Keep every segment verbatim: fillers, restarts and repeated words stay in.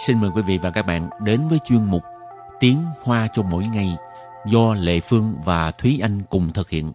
xin mời quý vị và các bạn đến với chuyên mục Tiếng Hoa cho mỗi ngày do Lệ Phương và Thúy Anh cùng thực hiện.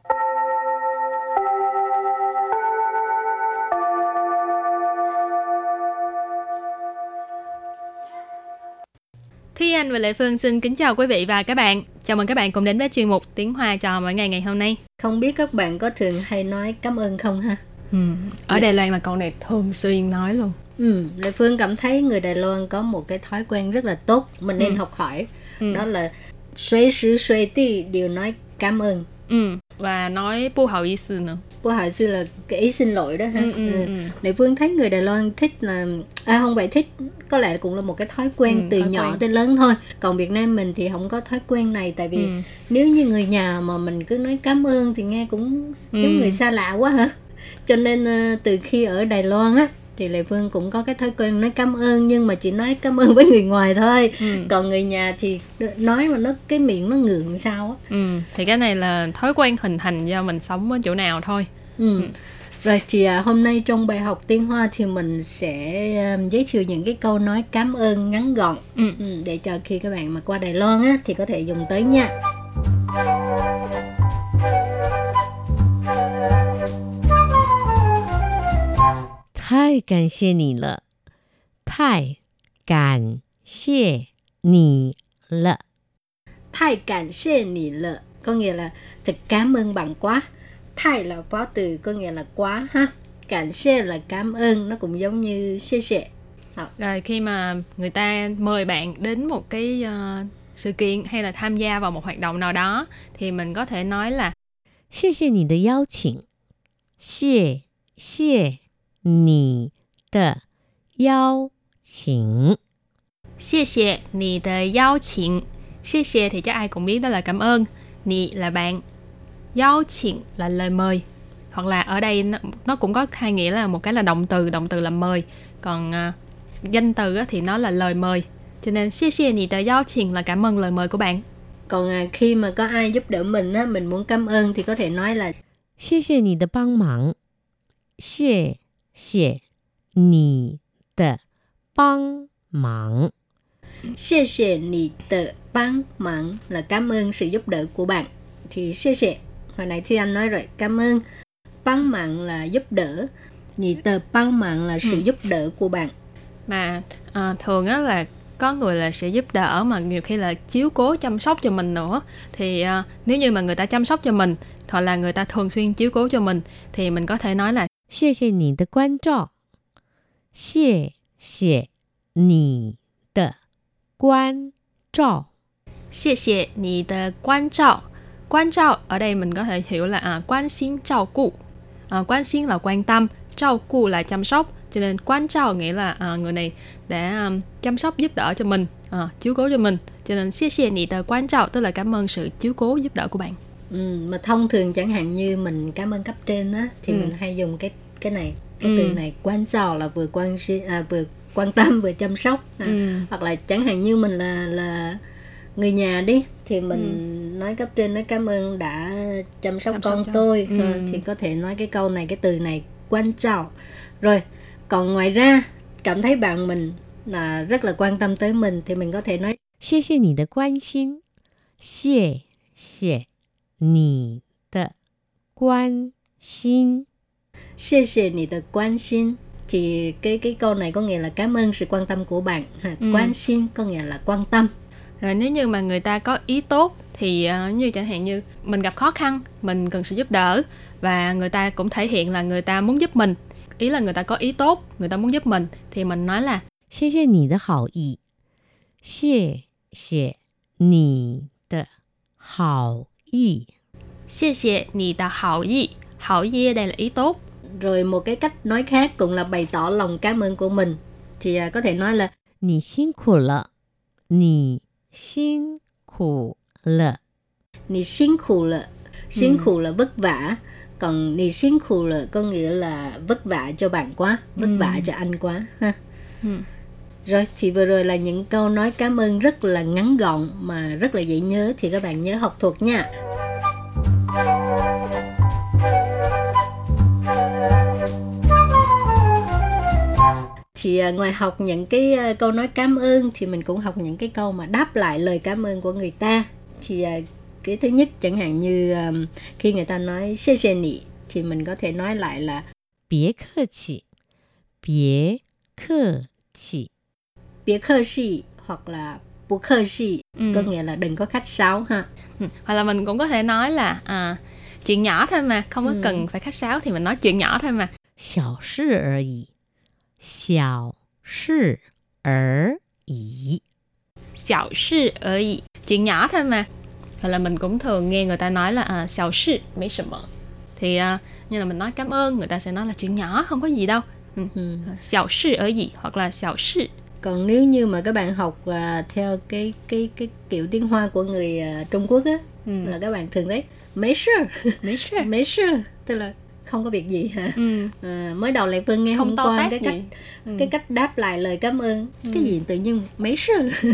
Thúy Anh và Lệ Phương xin kính chào quý vị và các bạn. Chào mừng các bạn cùng đến với chuyên mục Tiếng Hoa cho mỗi ngày ngày hôm nay. Không biết các bạn có thường hay nói cảm ơn không ha? Ừ, ở Đài Loan là câu này thường xuyên nói luôn. Ừ, Lệ Phương cảm thấy người Đài Loan có một cái thói quen rất là tốt, mình nên ừ. học hỏi. Ừ. Đó là suy sư suy ti đều nói cảm ơn. Ừ, và nói bu hào ý sư nữa. Bu hào ý sư là cái ý xin lỗi đó ha. Ừ, ừ, ừ. Lệ Phương thấy người Đài Loan thích là à không phải thích, có lẽ cũng là một cái thói quen ừ, từ thói nhỏ quen. tới lớn thôi. Còn Việt Nam mình thì không có thói quen này, tại vì ừ. nếu như người nhà mà mình cứ nói cảm ơn thì nghe cũng giống ừ. người xa lạ quá hả? Cho nên từ khi ở Đài Loan á thì Lệ Phương cũng có cái thói quen nói cảm ơn, nhưng mà chỉ nói cảm ơn với người ngoài thôi. Ừ. Còn người nhà thì nói mà nó cái miệng nó ngượng sao á. Ừ, thì cái này là thói quen hình thành do mình sống ở chỗ nào thôi. Ừ. Ừ. Rồi thì à, hôm nay trong bài học tiếng Hoa thì mình sẽ um, giới thiệu những cái câu nói cảm ơn ngắn gọn. Ừ. Ừ, để cho khi các bạn mà qua Đài Loan á thì có thể dùng tới nha. 太感謝你了，太感謝你了， 太感謝你了 có nghĩa là thật cảm ơn bạn quá. Thái là phó từ có nghĩa là quá ha. Cảm謝là cảm ơn, nó cũng giống như xie xie. Rồi khi mà người ta mời bạn đến một cái uh, sự kiện hay là tham gia vào một hoạt động nào đó thì mình có thể nói là 謝謝你的邀請，謝謝你的邀請， 謝謝你的邀請，謝謝thì chắc ai cũng biết đó là cảm ơn, nì là bạn,邀請là lời mời, hoặc là ở đây nó, nó cũng có hai nghĩa là một cái là động từ, động từ là mời, còn uh, danh từ á, thì nó là lời mời, cho nên 謝謝你的邀請 là cảm ơn lời mời của bạn. Còn à, khi mà có ai giúp đỡ mình á, mình muốn cảm ơn thì có thể nói là 謝謝你的幫忙，謝謝你的幫忙， 謝謝你的幫忙 là cảm ơn sự giúp đỡ của bạn. Thì 謝謝, hồi nãy Thúy Anh nói rồi, cảm ơn.幫忙là giúp đỡ, nhị tờ幫忙là sự ừ. giúp đỡ của bạn. Mà à, thường á là có người là sẽ giúp đỡ mà nhiều khi là chiếu cố chăm sóc cho mình nữa. Thì uh, nếu như mà người ta chăm sóc cho mình hoặc là người ta thường xuyên chiếu cố cho mình thì mình có thể nói là 謝謝你的關照，謝謝你的關照， 謝謝你的關照。關照ở đây mình có thể hiểu là à, quan心照顧. À, quan心là quan tâm,照顧là chăm sóc. Cho nên quan trao nghĩa là à, người này đã um, chăm sóc giúp đỡ cho mình, à, chiếu cố cho mình. Cho nên 謝謝你的關照 tức là cảm ơn sự chiếu cố giúp đỡ của bạn. Ừ, mà thông thường chẳng hạn như mình cảm ơn cấp trên á, thì ừ. mình hay dùng cái cái này, cái ừ. từ này quan trao là vừa quan à, vừa quan tâm vừa chăm sóc. À, ừ. Hoặc là chẳng hạn như mình là là người nhà đi thì mình ừ. nói cấp trên nói cảm ơn đã chăm sóc chăm con sóc tôi. Ừ. À, thì có thể nói cái câu này, cái từ này quan trao. Rồi còn ngoài ra cảm thấy bạn mình là rất là quan tâm tới mình thì mình có thể nói 謝謝你的關心，謝謝你的關心， 謝謝你的關心. Thì cái cái câu này có nghĩa là cảm ơn sự quan tâm của bạn. Ha, ừ. Quan心có nghĩa là quan tâm. Rồi nếu như mà người ta có ý tốt thì uh, như chẳng hạn như mình gặp khó khăn, mình cần sự giúp đỡ và người ta cũng thể hiện là người ta muốn giúp mình. Ý là người ta có ý tốt, người ta muốn giúp mình thì mình nói là 謝謝你的好意，謝謝你的好意， 謝謝你的好意. Hảo ý đây là ý tốt. Rồi một cái cách nói khác cũng là bày tỏ lòng cảm ơn của mình thì uh, có thể nói là 你辛苦了，你辛苦了， 你辛苦了，辛苦là vất vả. Còn nì xin khủ là có nghĩa là vất vả cho bạn quá, vất ừ. vả cho anh quá ha. Ừ. Rồi thì vừa rồi là những câu nói cảm ơn rất là ngắn gọn mà rất là dễ nhớ, thì các bạn nhớ học thuộc nha. Thì thì uh, ngoài học những cái uh, câu nói cảm ơn thì mình cũng học những cái câu mà đáp lại lời cảm ơn của người ta. Thì uh, cái thứ nhất chẳng hạn như um, khi người ta nói "谢謝你" thì mình có thể nói lại là "別客氣", "別客氣", "別客氣" hoặc là "不客氣", ừ. có nghĩa là đừng có khách sáo ha. Ừ. Hoặc là mình cũng có thể nói là à, chuyện nhỏ thôi mà, không có ừ. cần phải khách sáo thì mình nói chuyện nhỏ thôi mà. 小事而已，小事而已， 小事而已，chuyện nhỏ thôi mà. Hoặc là mình cũng thường nghe người ta nói là à, 小事沒什麼. Thì uh, như là mình nói cảm ơn, người ta sẽ nói là chuyện nhỏ, không có gì đâu. Ừ. Ừ. 小事而已 hoặc là 小事. Còn nếu như mà các bạn học uh, theo cái cái cái kiểu tiếng Hoa của người uh, Trung Quốc á, ừ. là các bạn thường thấy mấy sự, mấy sự, mấy sự, tức là không có việc gì hả? Ừ. À, mới đầu Lệ Phương nghe không hôm qua cái cách ừ. cái cách đáp lại lời cảm ơn, ừ. cái gì tự nhiên mấy sự.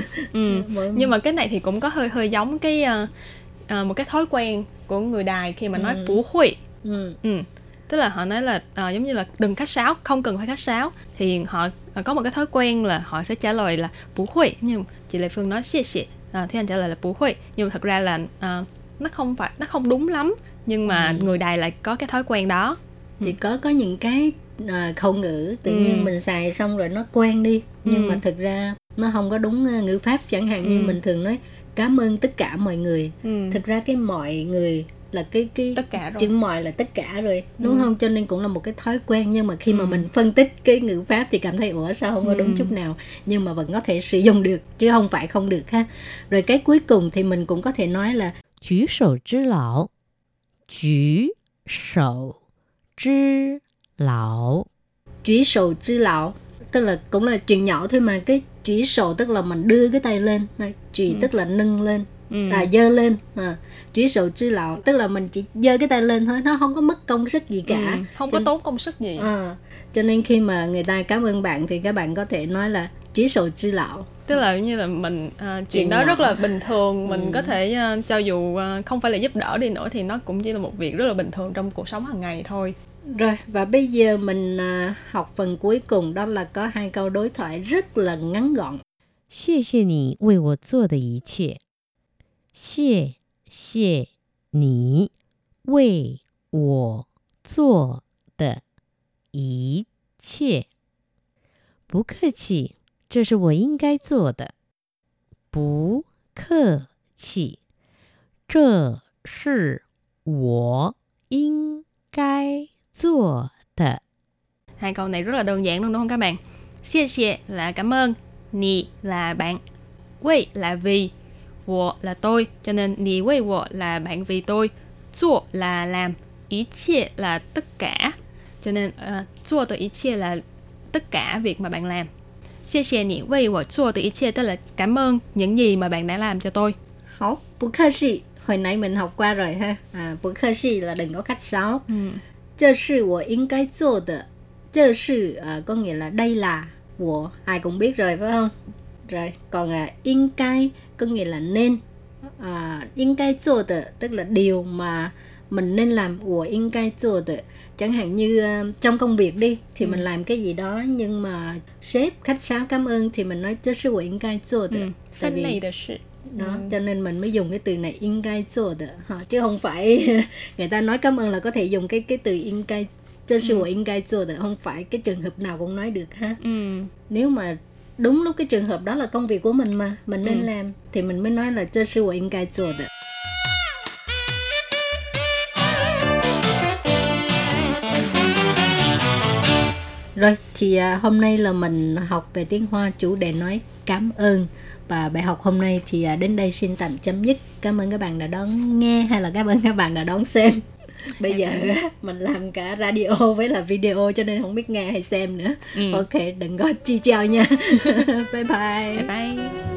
Ừ. Nhưng mà cái này thì cũng có hơi hơi giống cái uh, uh, một cái thói quen của người Đài khi mà nói ừ. bủ hủy. Ừ. Ừ. Tức là họ nói là uh, giống như là đừng khách sáo, không cần phải khách sáo. Thì họ uh, có một cái thói quen là họ sẽ trả lời là bủ hủy. Nhưng chị Lệ Phương nói xie xie, uh, thì anh trả lời là bủ hủy. Nhưng mà thật ra là uh, nó không phải, nó không đúng lắm. Nhưng mà ừ. người Đài lại có cái thói quen đó. Thì ừ. có có những cái uh, khẩu ngữ tự ừ. nhiên mình xài xong rồi nó quen đi. Nhưng ừ. mà thực ra nó không có đúng uh, ngữ pháp. Chẳng hạn ừ. như mình thường nói cảm ơn tất cả mọi người. ừ. Thực ra cái mọi người là cái cái tất cả rồi. Chữ mọi là tất cả rồi, đúng ừ. không? Cho nên cũng là một cái thói quen. Nhưng mà khi ừ. mà mình phân tích cái ngữ pháp thì cảm thấy ủa sao không có đúng ừ. chút nào. Nhưng mà vẫn có thể sử dụng được, chứ không phải không được ha. Rồi cái cuối cùng thì mình cũng có thể nói là 舉手之勞，舉手之勞， 舉手之勞 tức là cũng là chuyện nhỏ thôi mà. Cái chỉ sổ tức là mình đưa cái tay lên, chỉ ừ. tức là nâng lên, ừ. à dơ lên. À, chỉ sổ chứ lạo tức là mình chỉ dơ cái tay lên thôi, nó không có mất công sức gì cả, ừ. không cho, có tốn công sức gì. À, cho nên khi mà người ta cảm ơn bạn thì các bạn có thể nói là chỉ sổ chứ lạo. Tức là như là mình uh, chuyện, chuyện đó nhỏ. Rất là bình thường, mình ừ. có thể uh, cho dù uh, không phải là giúp đỡ đi nữa thì nó cũng chỉ là một việc rất là bình thường trong cuộc sống hàng ngày thôi. Rồi, và bây giờ mình uh, học phần cuối cùng, đó là có hai câu đối thoại rất là ngắn gọn. 謝謝你為我做的一切。謝謝你為我做的一切。不客氣，這是我應該做的。不客氣，這是我應該做的. Hai câu này rất là đơn giản luôn đúng không các bạn? Xie xie là cảm ơn, nì là bạn, wei là vì, wo là tôi, cho nên nì wei wo là bạn vì tôi, zuo là làm, ý chia là tất cả, cho nên uh, zuo từ ý chia là tất cả việc mà bạn làm. Xie xie nì wei wo zuo từ ý chia tức là cảm ơn những gì mà bạn đã làm cho tôi. Hảo, bù khơ xì, hồi nãy mình học qua rồi ha. À, bù khơ xì là đừng có khách sáo. Ừ. 這是我應該做的. 這是uh, có nghĩa là đây là, 我 ai cũng biết rồi phải không? Rồi, còn uh, 應該có nghĩa là nên. Uh, 應該做的 tức là điều mà mình nên làm. 我應該做的. Chẳng hạn như uh, trong công việc đi thì ừ. mình làm cái gì đó nhưng mà sếp khách sáo cảm ơn thì mình nói 這是我應該做的. Tại vì đó, ừ. cho nên mình mới dùng cái từ này 應該做的, chứ không phải người ta nói cảm ơn là có thể dùng cái cái từ 應該, 這是我應該做的, không phải cái trường hợp nào cũng nói được ha. Ừ. Nếu mà đúng lúc cái trường hợp đó là công việc của mình mà mình nên ừ. làm thì mình mới nói là 這是我應該做的. Rồi thì uh, hôm nay là mình học về tiếng Hoa chủ đề nói cảm ơn. Và bài học hôm nay thì đến đây xin tạm chấm dứt. Cảm ơn các bạn đã đón nghe hay là cảm ơn các bạn đã đón xem. Bây giờ mình làm cả radio với là video cho nên không biết nghe hay xem nữa. ừ. Ok, đừng có chi chào nha. Bye bye. Bye bye.